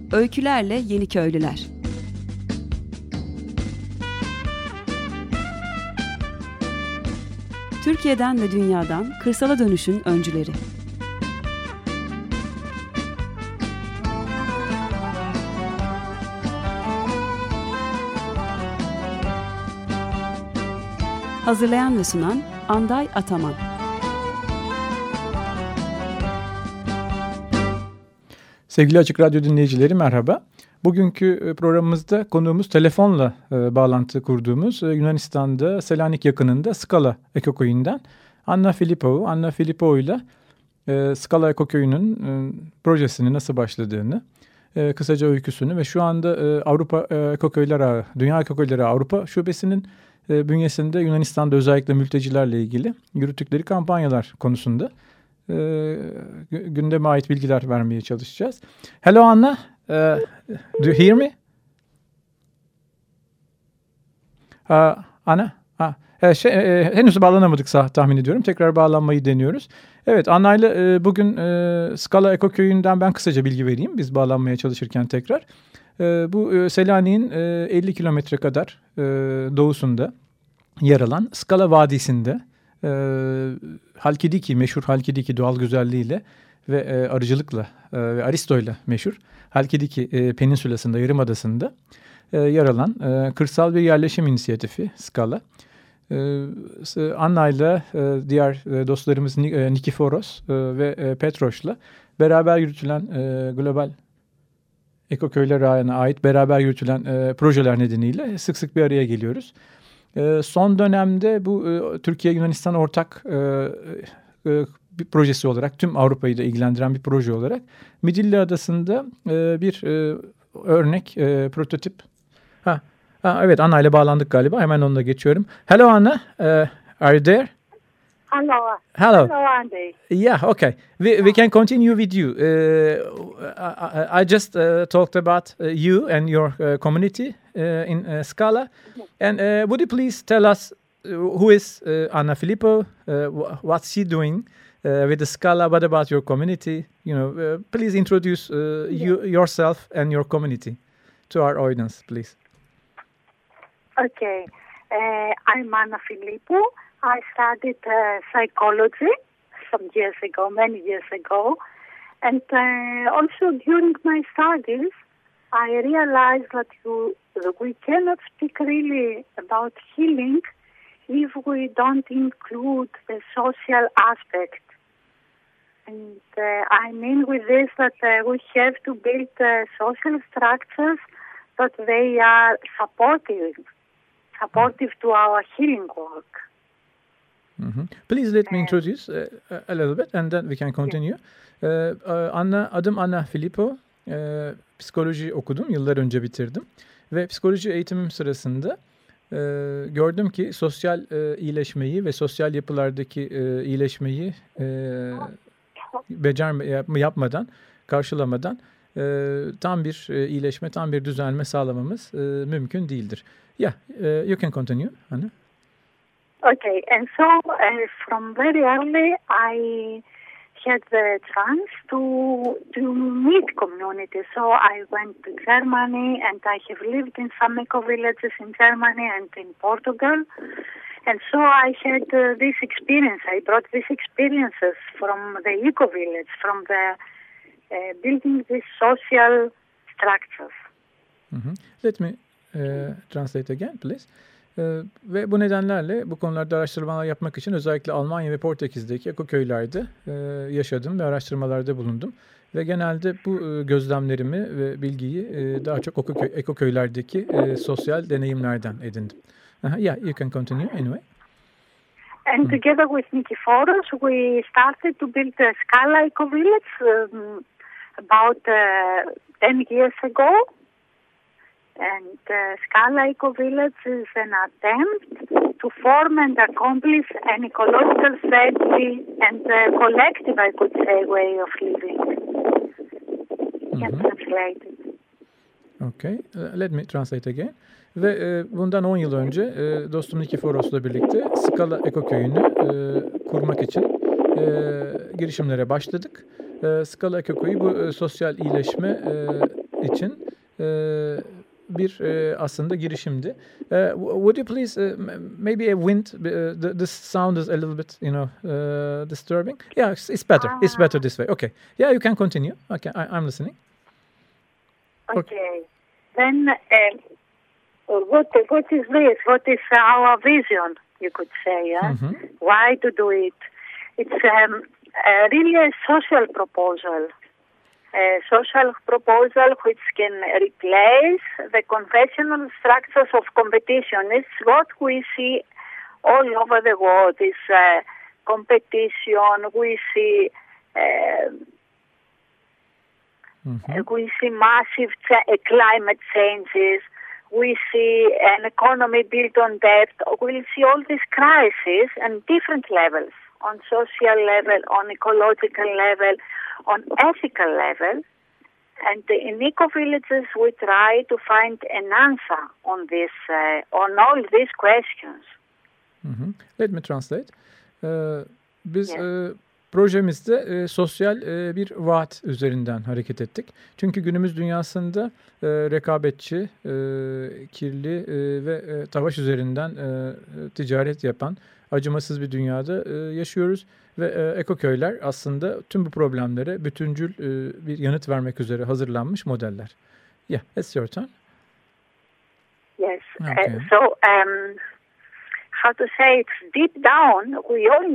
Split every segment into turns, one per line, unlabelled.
Öykülerle Yeniköylüler. Türkiye'den ve dünyadan kırsala dönüşün öncüleri. Hazırlayan ve sunan Anday Ataman.
Sevgili Açık Radyo dinleyicileri merhaba. Bugünkü programımızda konuğumuz telefonla bağlantı kurduğumuz Yunanistan'da Selanik yakınında Skala Ekoköyü'nden Anna Filipou. Anna Filipou ile Skala Ekoköyü'nün projesinin nasıl başladığını, kısaca öyküsünü ve şu anda Avrupa Ekoköyler Ağı, Dünya Ekoköyleri Ağı Avrupa Şubesi'nin bünyesinde Yunanistan'da özellikle mültecilerle ilgili yürüttükleri kampanyalar konusunda gündeme ait bilgiler vermeye çalışacağız. Hello Anna, do you hear me? Anna, henüz bağlanamadık tahmin ediyorum. Tekrar bağlanmayı deniyoruz. Evet, Anna ile bugün Skala Ekoköyü'nden ben kısaca bilgi vereyim. Biz bağlanmaya çalışırken tekrar. Bu Selanik'in 50 kilometre kadar doğusunda yer alan Skala Vadisi'nde Halkidiki, meşhur Halkidiki doğal güzelliğiyle ve arıcılıkla ve Aristo'yla meşhur Halkidiki Peninsülası'nda, Yarımadası'nda yer alan kırsal bir yerleşim inisiyatifi Skala. Anna ile diğer dostlarımız Nikiforos ve Petros'la beraber yürütülen global Ekoköyler Ağı'na ait beraber yürütülen projeler nedeniyle sık sık bir araya geliyoruz. Son dönemde bu Türkiye-Yunanistan ortak bir projesi olarak, tüm Avrupa'yı da ilgilendiren bir proje olarak Midilli Adası'nda bir örnek, prototip. Evet, Anna ile bağlandık galiba. Hemen onunla geçiyorum. Hello Anna, are you there?
Hello.
Hello.
Hello, Andy.
Yeah, okay. We can continue with you. I just talked about you and your community in Skala. And would you please tell us who is Anna Filipou? What's she doing with the Skala? What about your community? Please introduce yourself and your community to our audience, please.
Okay. I'm Anna Filipou. I studied psychology many years ago. And also during my studies, I realized that we cannot speak really about healing if we don't include the social aspect. And I mean with this that we have to build social structures that they are supportive to our healing work.
Mm-hmm. Please let me introduce a little bit and then we can continue. Adım Anna Filipou. Psikoloji okudum. Yıllar önce bitirdim. Ve psikoloji eğitimim sırasında gördüm ki sosyal iyileşmeyi ve sosyal yapılardaki iyileşmeyi yapmadan, karşılamadan tam bir iyileşme, tam bir düzelme sağlamamız mümkün değildir. Yeah, you can continue, Anna.
Okay, and so from very early I had the chance to meet community. So I went to Germany and I have lived in some eco-villages in Germany and in Portugal. And so I had this experience. I brought these experiences from the eco-village, from the building these social structures.
Mm-hmm. Let me translate again, please. Ve bu nedenlerle bu konularda araştırmalar yapmak için özellikle Almanya ve Portekiz'deki ekoköylerde yaşadım ve araştırmalarda bulundum. Ve genelde bu gözlemlerimi ve bilgiyi daha çok ekoköylerdeki sosyal deneyimlerden edindim. Yeah, you can continue anyway.
And together with Nikiforos, we started to build the Skala Eco Village about 10 years ago. And Skala Eco Village is an attempt to form and accomplish an ecological friendly and collective, I could say, way of living. Translated.
Okay, let me translate again. Ve bundan 10 yıl önce dostum Nikiforos'la birlikte Skala Ekoköyü'nü kurmak için girişimlere başladık. Skala Ekoköyü bu sosyal iyileşme için bir aslında girişimdi. Would you please maybe a wind? The sound is a little bit, disturbing. Yeah, it's better. It's better this way. Okay. Yeah, you can continue. Okay, I'm listening.
Okay. Then, what is this? What is our vision? You could say. Why to do it? It's really a social proposal. A social proposal which can replace the conventional structures of competition. It's what we see all over the world. It's competition. We see massive climate changes. We see an economy built on debt. We see all these crises on different levels, on social level, on ecological level, on ethical level. And in eco-villages, we try to find an answer on this, on all these questions.
Let me translate. Biz projemizde sosyal bir vaat üzerinden hareket ettik. Çünkü günümüz dünyasında rekabetçi, kirli ve savaş üzerinden ticaret yapan acımasız bir dünyada yaşıyoruz. Ve ekoköyler aslında tüm bu problemlere bütüncül bir yanıt vermek üzere hazırlanmış modeller. Yeah, it's your turn.
Yes. Okay. How to say, it's deep down, we all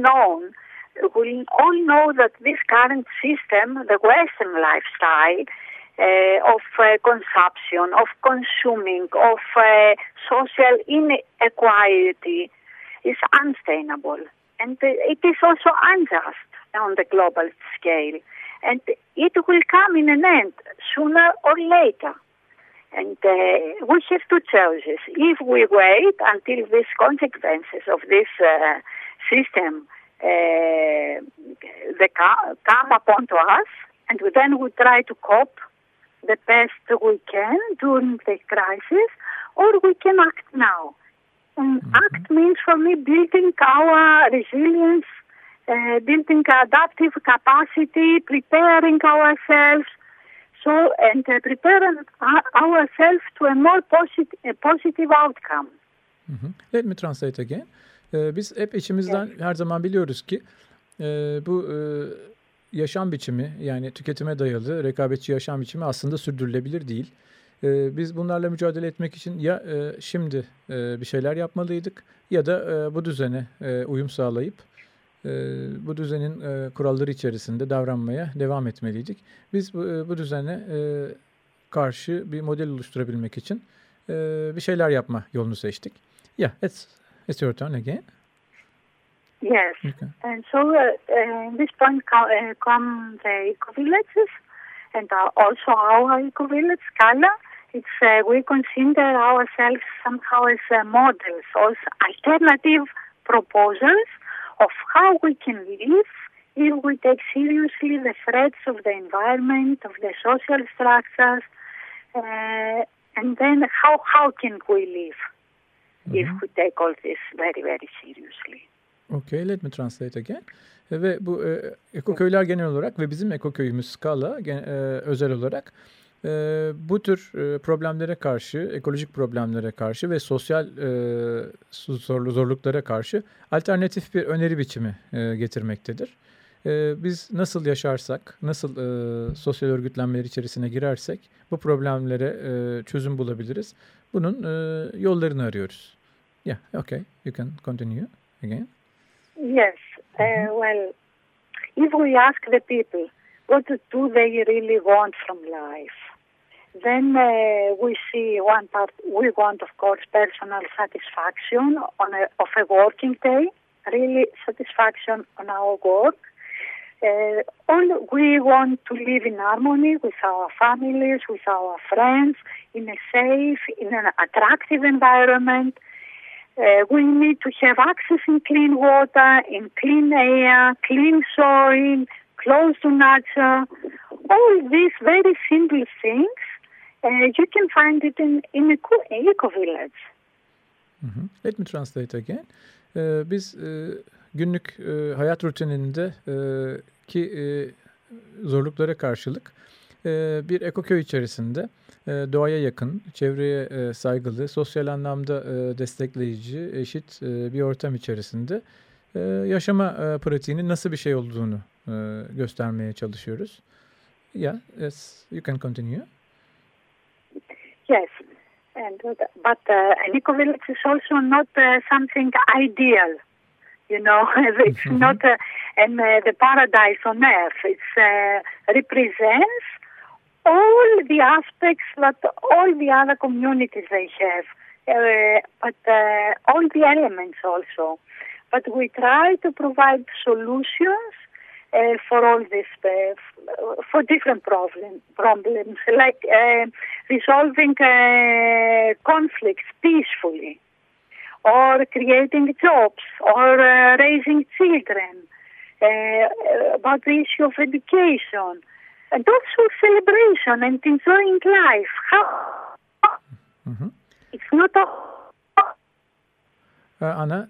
know that this current system, the Western lifestyle of consumption, of consuming, of social inequality is unsustainable. And it is also unjust on the global scale. And it will come in an end, sooner or later. And we have two choices. If we wait until these consequences of this system they come upon to us, and then we try to cope the best we can during the crisis, or we can act now. And act means for me building our resilience, building adaptive capacity, preparing ourselves, and preparing ourselves to a more positive outcome.
Let me translate again. Biz hep içimizden her zaman biliyoruz ki bu yaşam biçimi, yani tüketime dayalı rekabetçi yaşam biçimi aslında sürdürülebilir değil. Biz bunlarla mücadele etmek için ya şimdi bir şeyler yapmalıydık ya da bu düzene uyum sağlayıp bu düzenin kuralları içerisinde davranmaya devam etmeliydik. Biz bu düzene karşı bir model oluşturabilmek için bir şeyler yapma yolunu seçtik. Yeah, it's your turn again.
Yes, okay. And so this point come the eco-villages and also our eco-village, Scala. It's we consider ourselves somehow as models, as alternative proposals of how we can live if we take seriously the threats of the environment, of the social structures, and then how can we live if we take all this very, very seriously.
Okay, let me translate again. Ve bu ekoköyler genel olarak ve bizim ekoköyümüz Scala özel olarak bu tür problemlere karşı, ekolojik problemlere karşı ve sosyal zorluklara karşı alternatif bir öneri biçimi getirmektedir. Biz nasıl yaşarsak, nasıl sosyal örgütlenmeler içerisine girersek bu problemlere çözüm bulabiliriz. Bunun yollarını arıyoruz. Yeah, okay, you can continue again.
Yes, well, if we ask the people what do they really want from life, then we see one part, we want, of course, personal satisfaction of a working day, really satisfaction on our work. We want to live in harmony with our families, with our friends, in a safe, in an attractive environment. We need to have access in clean water, in clean air, clean soil, close to nature. All these very simple things, you can find it in eco-village.
Let me translate again. Biz günlük hayat rutininde ki zorluklara karşılık bir ekoköy içerisinde doğaya yakın, çevreye saygılı, sosyal anlamda destekleyici, eşit bir ortam içerisinde yaşama pratiğinin nasıl bir şey olduğunu göstermeye çalışıyoruz. Yeah, yes, you can continue.
Yes, but an eco-village is also not something ideal. You know, it's not the paradise on earth. It represents all the aspects that all the other communities they have, but all the elements also. But we try to provide solutions for all this, for different problems, like resolving conflicts peacefully, or creating jobs, or raising children, about the issue of education, and also celebration and enjoying life. It's not a...
Anna,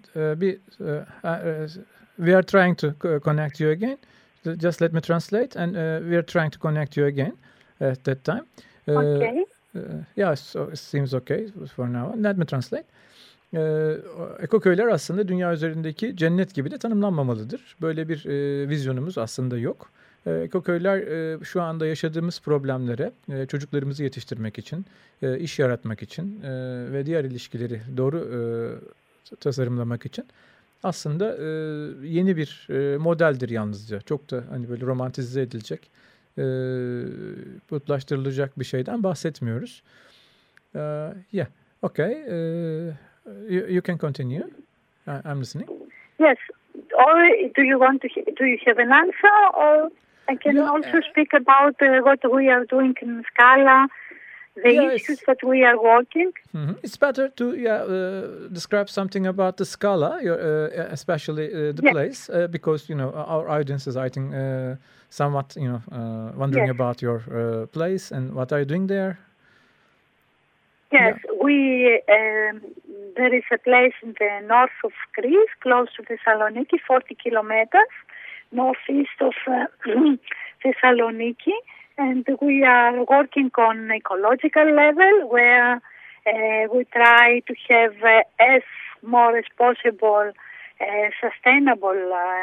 we are trying to connect you again. Just let me translate, and we are trying to connect you again at that time.
Okay.
Yeah, so it seems okay for now. Let me translate. Ekoköyler aslında dünya üzerindeki cennet gibi de tanımlanmamalıdır. Böyle bir vizyonumuz aslında yok. Ekoköyler şu anda yaşadığımız problemlere çocuklarımızı yetiştirmek için, iş yaratmak için ve diğer ilişkileri doğru tasarımlamak için aslında yeni bir modeldir yalnızca. Çok da hani böyle romantize edilecek, putlaştırılacak bir şeyden bahsetmiyoruz. Yeah, okay. You can continue. I'm listening.
Yes. Or do you have an answer, or I can also speak about what we are doing in Scala, the issues that we are working.
It's better to describe something about the Scala, especially the place, because our audience is, I think, somewhat wondering about your place and what are you doing there.
Yes, there is a place in the north of Greece, close to Thessaloniki, 40 kilometers northeast of Thessaloniki, and we are working on ecological level where we try to have as more as possible sustainable.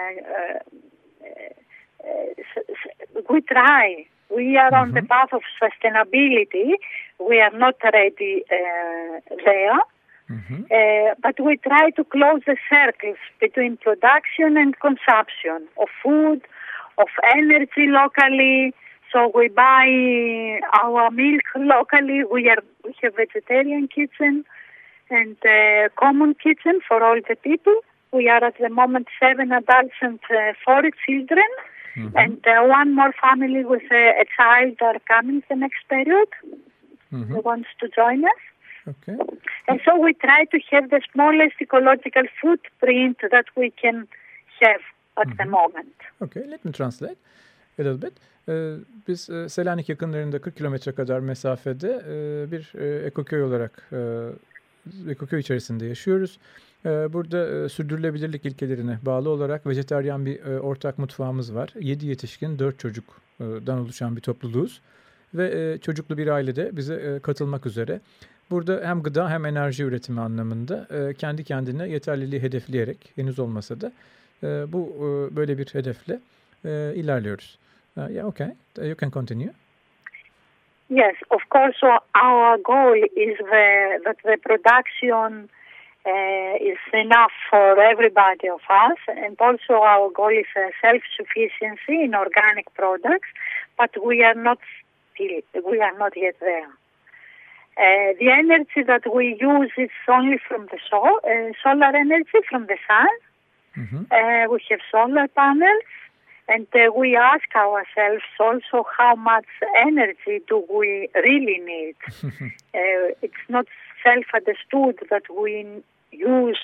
We are on the path of sustainability. We are not ready there. But we try to close the circles between production and consumption of food, of energy locally. So we buy our milk locally. We have vegetarian kitchen and common kitchen for all the people. We are at the moment 7 adults and 4 children. And one more family with a child are coming the next period. Who wants to join us.
Okay.
And so we try to have the smallest ecological footprint that we can have at the moment.
Okay, let me translate a little bit. Biz Selanik yakınlarında 40 kilometre kadar mesafede bir ekoköy olarak ekoköy içerisinde yaşıyoruz. Burada sürdürülebilirlik ilkelerine bağlı olarak vejetaryen bir ortak mutfağımız var. 7 yetişkin, 4 çocuktan oluşan bir topluluğuz. Ve çocuklu bir ailede bize katılmak üzere. Burada hem gıda hem enerji üretimi anlamında kendi kendine yeterliliği hedefleyerek, henüz olmasa da bu böyle bir hedefle ilerliyoruz. Yeah, okay. You can continue.
Yes, of course. Our goal is that the production is enough for everybody of us, and also our goal is self-sufficiency in organic products. But we are not yet there. The energy that we use is only from the solar energy from the sun. We have solar panels, and we ask ourselves also how much energy do we really need. It's not self-understood that we use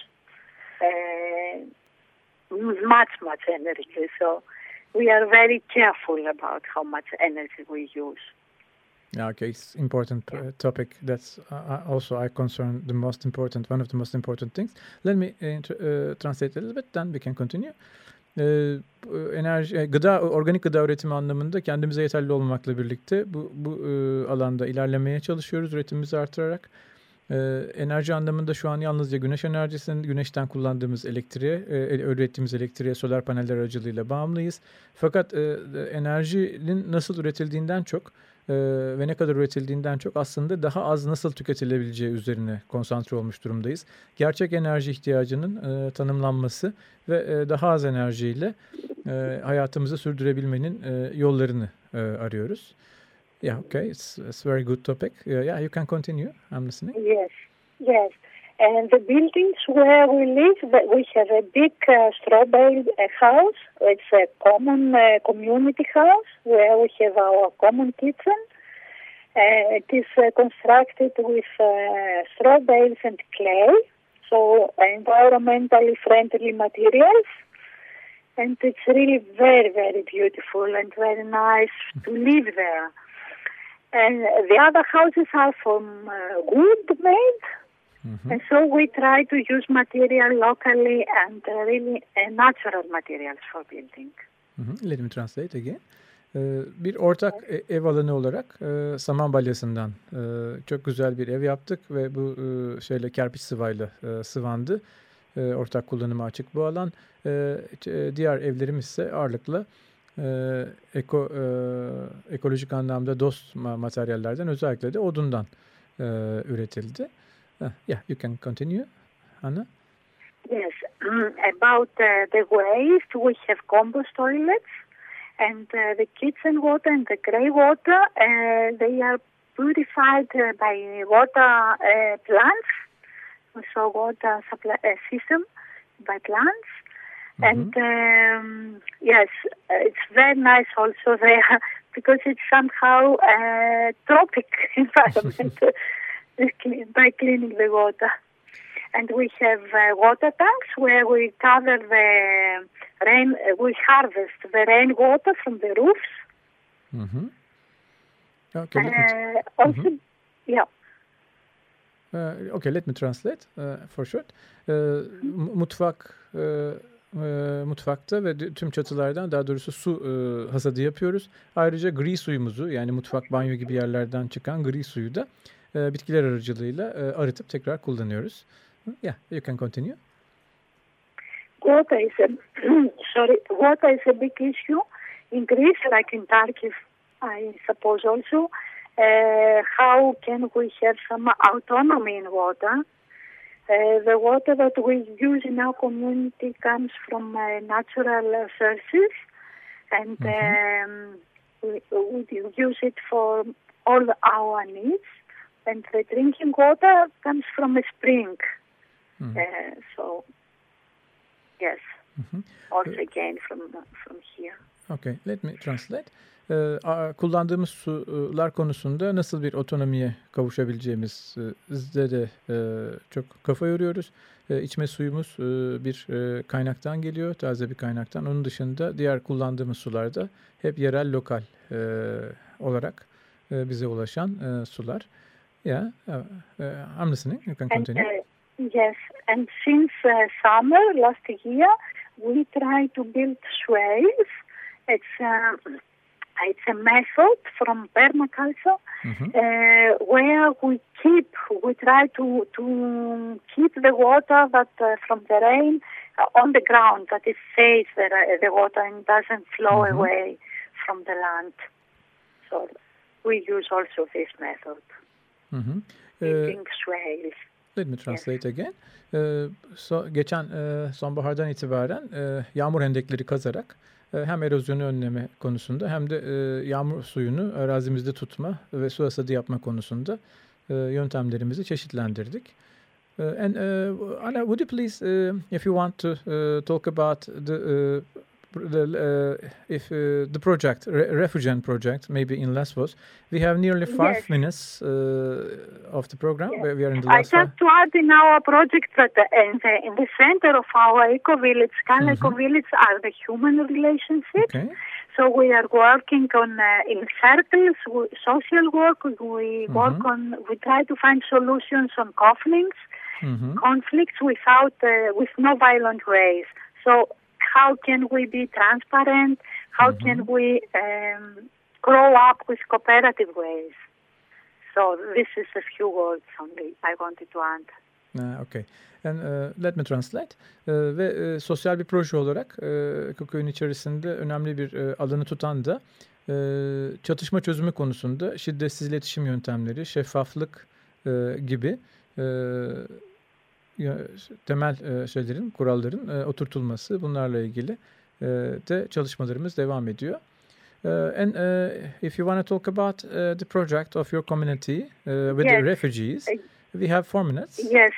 much energy. So we are very careful about how much energy we use.
Okay, it's important topic. That's also I concern the most important, one of the most important things. Let me translate a little bit, then we can continue. organik gıda üretimi anlamında kendimize yeterli olmamakla birlikte bu alanda ilerlemeye çalışıyoruz üretimimizi artırarak. Enerji anlamında şu an yalnızca güneş enerjisinin güneşten kullandığımız elektriğe, ürettiğimiz elektriğe solar paneller aracılığıyla bağımlıyız. Fakat enerjinin nasıl üretildiğinden çok ve ne kadar üretildiğinden çok aslında daha az nasıl tüketilebileceği üzerine konsantre olmuş durumdayız. Gerçek enerji ihtiyacının tanımlanması ve daha az enerjiyle hayatımızı sürdürebilmenin yollarını arıyoruz. Yeah, okay, it's very good topic. Yeah, you can continue. I'm listening.
Yes. And the buildings where we live, we have a big straw bale house. It's a common community house where we have our common kitchen. It is constructed with straw bales and clay, so environmentally friendly materials. And it's really very, very beautiful and very nice to live there. And the other houses are from wood made. Mm-hmm. And so we try to use material locally and really natural materials for building.
Mm-hmm. Let me translate again. Bir ortak ev alanı olarak saman balyasından çok güzel bir ev yaptık ve bu kerpiç sıvayla sıvandı. Ortak kullanıma açık bu alan. Diğer evlerimiz ise ağırlıkla ekolojik anlamda dost materyallerden, özellikle de odundan üretildi. Yeah, you can continue, Anna.
Yes, about the waste, we have compost toilets, and the kitchen water and the grey water, they are purified by water plants, so water supply system by plants. Mm-hmm. And yes, it's very nice also there because it's somehow a tropic environment by cleaning the water. And we have water tanks where we gather the rain, we harvest the rainwater from the roofs.
Mm-hmm. Okay.
Also,
mm-hmm.
Yeah.
Okay, let me translate for short. Mutfakta ve tüm çatılardan, daha doğrusu su hasadı yapıyoruz. Ayrıca gri suyumuzu, yani mutfak, banyo gibi yerlerden çıkan gri suyu da bitkiler aracılığıyla arıtıp tekrar kullanıyoruz. Yeah, you can continue.
Water is a big issue in Greece, like in Turkey, I suppose also. How can we have some autonomy in water? The water that we use in our community comes from natural sources, and we use it for all our needs. And the drinking water comes from a spring. Mm-hmm. So, yes, also again from here.
Okay, let me translate. Kullandığımız sular konusunda nasıl bir otonomiye kavuşabileceğimizde de çok kafa yoruyoruz. İçme suyumuz bir kaynaktan geliyor, taze bir kaynaktan. Onun dışında diğer kullandığımız sularda hep yerel, lokal olarak bize ulaşan sular. Yeah, I'm listening. You can continue.
Yes, and since summer last year, we try to build swales. It's a method from permaculture where we try to keep the water that from the rain on the ground, that it stays the water and doesn't flow away from the land. So we use also this method. Building swales.
Let me translate again. Geçen sonbahardan itibaren yağmur hendekleri kazarak hem erozyonu önleme konusunda hem de yağmur suyunu arazimizde tutma ve su hasadı yapma konusunda yöntemlerimizi çeşitlendirdik. And Anna, would you please, if you want to talk about the project, Refugen project, maybe in Lesbos. We have nearly 5 minutes of the program.
Yes.
We are in the last
I just to add in our project that in the center of our eco-village, Skala eco-village, are the human relationships. Okay. So we are working on in circles, social work. We work on. We try to find solutions on conflicts without with no violent ways. So how can we be transparent, how can we grow up with cooperative ways. So this is a few words only I wanted to add.
Okay. And let me translate. Ve sosyal bir proje olarak Ekoköy'ün içerisinde önemli bir alanı tutan da çatışma çözümü konusunda şiddetsiz iletişim yöntemleri, şeffaflık gibi temel şeylerin, kuralların oturtulması, bunlarla ilgili de çalışmalarımız devam ediyor. And if you want to talk about the project of your community with the refugees, we have 4 minutes.
Yes.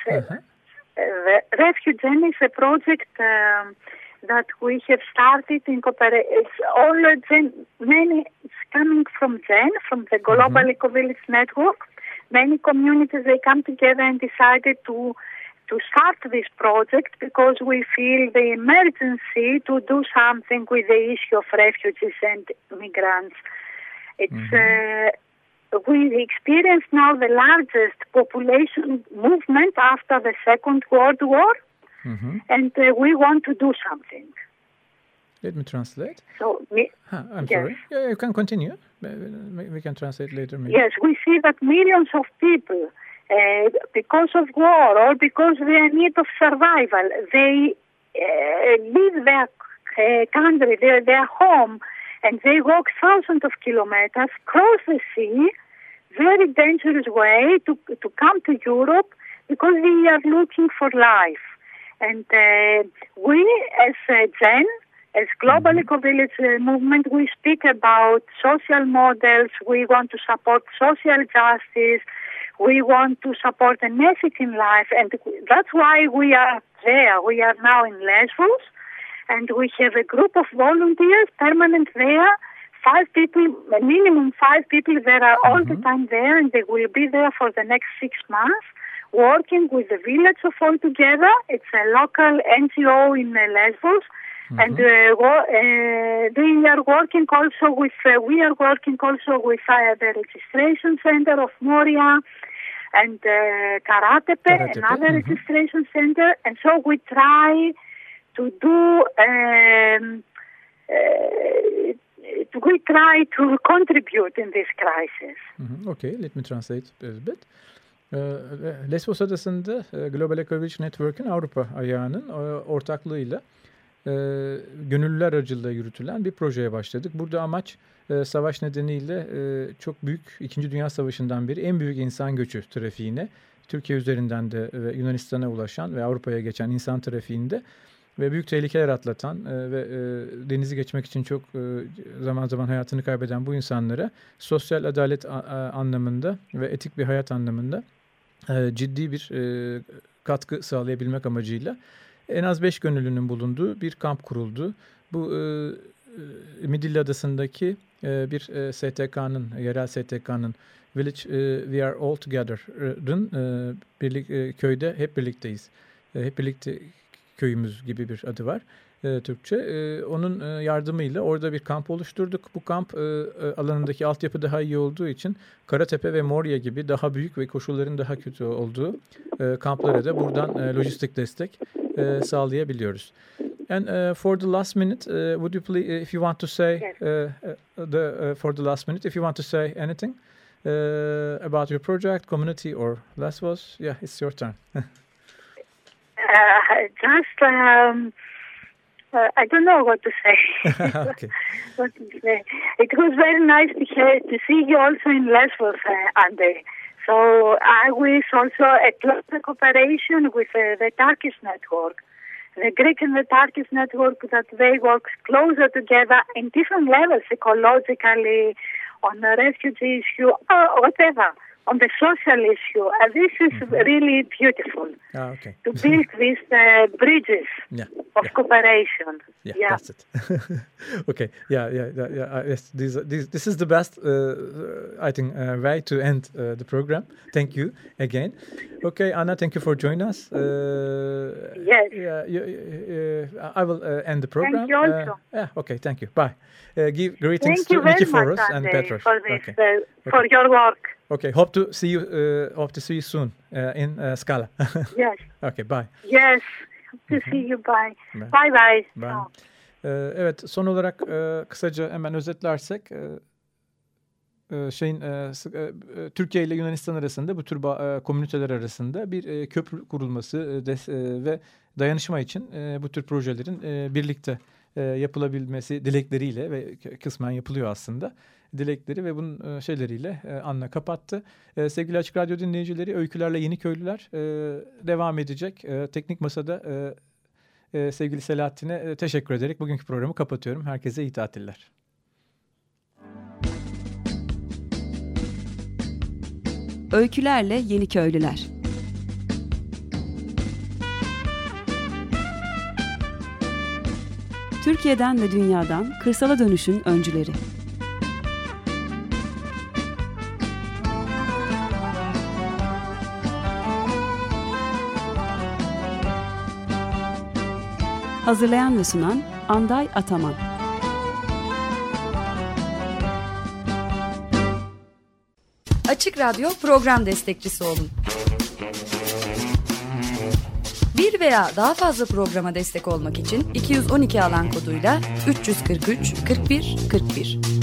RefuGen is a project that we have started in cooperation. It's all many. It's coming from GEN, from the Global Eco-Village Network. Many communities, they come together and decided to start this project because we feel the emergency to do something with the issue of refugees and migrants. It's we experience now the largest population movement after the Second World War, and we want to do something.
Let me translate.
So,
I'm sorry. Yeah, you can continue. We can translate later. Maybe.
Yes, we see that millions of people, because of war or because they are in need of survival, they leave their country, their home, and they walk thousands of kilometers, cross the sea, very dangerous way to come to Europe because we are looking for life. And we, as GEN, as Global Eco-Village Movement, we speak about social models. We want to support social justice. We want to support an ethic in life. And that's why we are there. We are now in Lesbos. And we have a group of volunteers permanent there. 5 people, minimum 5 people there are all the time there, and they will be there for the next 6 months, working with the village of All Together. It's a local NGO in Lesbos, and they are working also with. We are working also with the registration center of Moria and Karatepe, another registration center, and so we try to do. We try to contribute in this crisis.
Okay, let me translate a bit. Lesbos Adası'nda Global Eco-Village Network'ün Avrupa ayağının ortaklığıyla gönüllüler aracılığıyla yürütülen bir projeye başladık. Burada amaç savaş nedeniyle çok büyük 2. Dünya Savaşı'ndan beri en büyük insan göçü trafiğine, Türkiye üzerinden de Yunanistan'a ulaşan ve Avrupa'ya geçen insan trafiğinde ve büyük tehlikeler atlatan ve denizi geçmek için çok zaman zaman hayatını kaybeden bu insanlara sosyal adalet anlamında ve etik bir hayat anlamında ciddi bir katkı sağlayabilmek amacıyla en az 5 gönüllünün bulunduğu bir kamp kuruldu. Bu Midilli Adası'ndaki bir STK'nın, yerel STK'nın Village We Are All Together'ın köyde hep birlikteyiz. Hep birlikte köyümüz gibi bir adı var Türkçe. Onun yardımıyla orada bir kamp oluşturduk. Bu kamp alanındaki altyapı daha iyi olduğu için Karatepe ve Moria gibi daha büyük ve koşulların daha kötü olduğu kamplara da buradan lojistik destek sağlayabiliyoruz. And for the last minute, would you please, if you want to say, for the last minute, if you want to say anything about your project, community, or Lesbos, yeah, it's your turn.
I don't know what to say.
Okay.
What to say. It was very nice to see you also in Lesbos, Andy. So I wish also a closer cooperation with the Turkish network, the Greek and the Turkish network, that they work closer together in different levels, ecologically, on the refugee issue, or whatever. On the social issue, this is really beautiful.
Okay.
To build these bridges of cooperation.
Yeah, that's it. Okay. Yeah. Yes, this is the best, I think, way to end the program. Thank you again. Okay, Anna, thank you for joining us.
Yes.
I will end the program.
Thank you also.
Okay, thank you. Bye. Give greetings
to
Nikiforos and Petros.
For this, for your work.
Okay, hope to see you soon in Skala.
Yes.
Okay, bye.
Yes. To see you. Bye. Bye bye.
Bye. Evet, son olarak kısaca hemen özetlersek Türkiye ile Yunanistan arasında bu tür komüniteler arasında bir köprü kurulması ve dayanışma için bu tür projelerin birlikte yapılabilmesi dilekleriyle ve kısmen yapılıyor aslında. Dilekleri ve bunun şeyleriyle Anna kapattı. Sevgili Açık Radyo dinleyicileri, Öykülerle Yeniköylüler devam edecek. Teknik Masa'da sevgili Selahattin'e teşekkür ederek bugünkü programı kapatıyorum. Herkese iyi tatiller.
Öykülerle Yeniköylüler. Türkiye'den ve dünyadan kırsala dönüşün öncüleri. Hazırlayan ve sunan Anday Ataman.
Açık Radyo program destekçisi olun. Bir veya daha fazla programa destek olmak için 212 alan koduyla 343 41 41.